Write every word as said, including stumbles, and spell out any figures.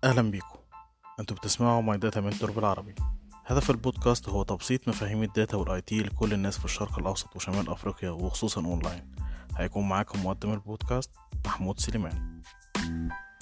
أهلا بيكم. أنتوا بتسمعوا ماي داتا منتور بالعربي. هدف البودكاست هو تبسيط مفاهيم الداتا والاي تي لكل الناس في الشرق الأوسط وشمال أفريقيا وخصوصا أونلاين. هيكون معاكم مقدم البودكاست محمود سليمان.